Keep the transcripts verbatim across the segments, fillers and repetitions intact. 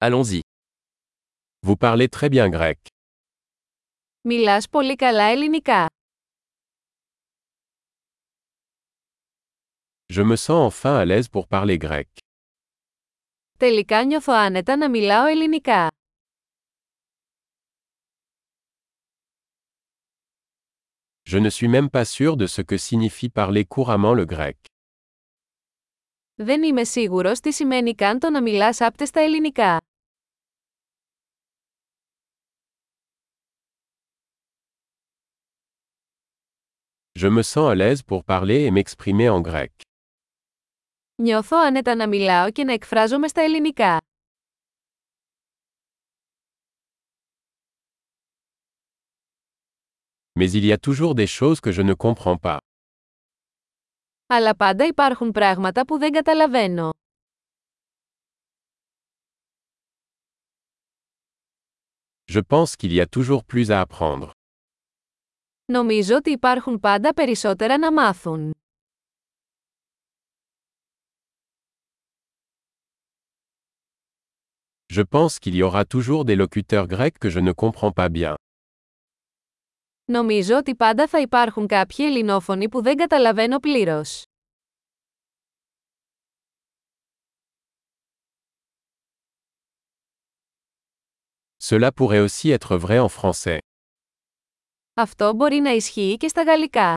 Allons-y. Vous parlez très bien grec. Μιλάς πολύ καλά ελληνικά. Je me sens enfin à l'aise pour parler grec. Τελικά νιώθω άνετα να μιλάω ελληνικά. Je ne suis même pas sûr de ce que signifie parler couramment le grec. Δεν είμαι σίγουρος τι σημαίνει καν το να μιλάς άπτεστα ελληνικά. Je me sens à l'aise pour parler et m'exprimer en grec. Νιώθω άνετα να μιλάω και να εκφράζομαι στα ελληνικά. Mais il y a toujours des choses que je ne comprends pas. Αλλά πάντα υπάρχουν πράγματα που δεν καταλαβαίνω. Je pense qu'il y a toujours plus à apprendre. Νομίζω ότι υπάρχουν πάντα περισσότερα να μάθουν. Je pense qu'il y aura toujours des locuteurs grecs que je ne comprends pas bien. Νομίζω ότι πάντα θα υπάρχουν κάποιοι ελληνόφωνοι που δεν καταλαβαίνω πλήρως. Cela pourrait aussi être vrai en français. Αυτό μπορεί να ισχύει και στα γαλλικά.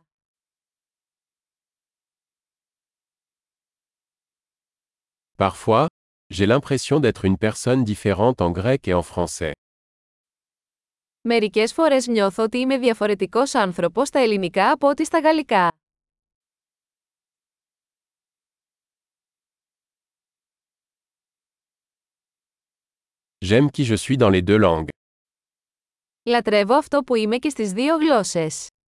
Parfois, j'ai l'impression d'être une personne différente en grec et en français. Μερικές φορές νιώθω ότι είμαι διαφορετικός άνθρωπος στα ελληνικά από ό,τι στα γαλλικά. J'aime qui je suis dans les deux langues. Λατρεύω αυτό που είμαι και στις δύο γλώσσες.